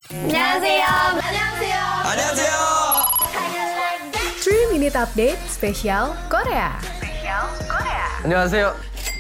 안녕하세요. 안녕하세요. 안녕하세요. 3-minute update spesial Korea. 안녕하세요.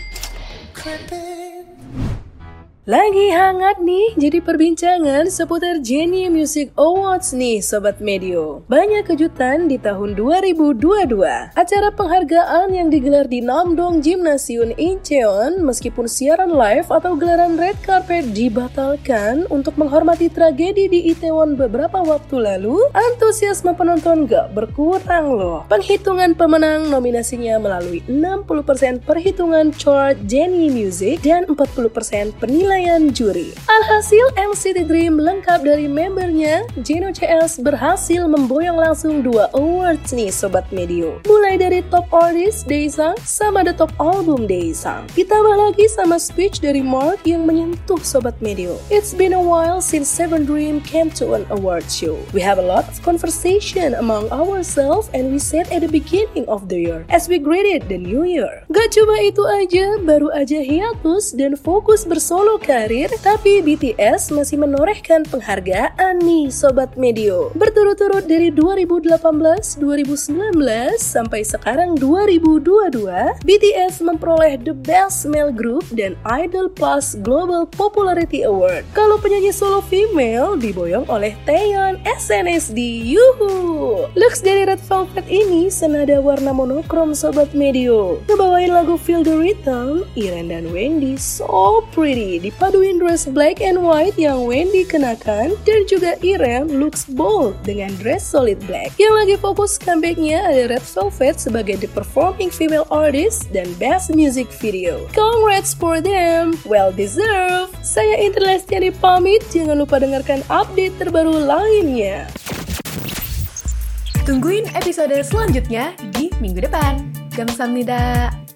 Lagi hangat nih jadi perbincangan seputar Genie Music Awards nih Sobat Medio. Banyak kejutan di tahun 2022. Acara penghargaan yang digelar di Namdong Gymnasium Incheon meskipun siaran live atau gelaran red carpet dibatalkan untuk menghormati tragedi di Itaewon beberapa waktu lalu, antusiasme penonton gak berkurang loh. Penghitungan pemenang nominasinya melalui 60% perhitungan chart Genie Music dan 40% penilaian juri. Alhasil NCT Dream lengkap dari membernya, Jeno CS berhasil memboyong langsung 2 awards nih Sobat Medio. Mulai dari Top Artist Daesang sama The Top Album Daesang. Ditambah lagi sama speech dari Mark yang menyentuh Sobat Medio. It's been a while since Seven Dream came to an award show. We have a lot of conversation among ourselves and we said at the beginning of the year as we greeted the new year. Gak cuma itu aja, baru aja hiatus dan fokus bersolo karir, tapi BTS masih menorehkan penghargaan nih Sobat Medio. Berturut-turut dari 2018, 2019, sampai sekarang 2022, BTS memperoleh The Best Male Group dan Idol Plus Global Popularity Award. Kalau penyanyi solo female diboyong oleh Taeyeon SNSD. Yuhu! Looks dari Red Velvet ini senada warna monokrom Sobat Medio. Ngebawain lagu Feel the Rhythm, Iren dan Wendy so pretty dipaduin dress black and white yang Wendy kenakan, dan juga Iren looks bold dengan dress solid black. Yang lagi fokus comebacknya ada Red Velvet sebagai the performing female artist dan best music video. Congrats for them, well deserved. Saya Indra Lestiani pamit, jangan lupa dengarkan update terbaru lainnya. Tungguin episode selanjutnya di minggu depan. Kamsahamnida.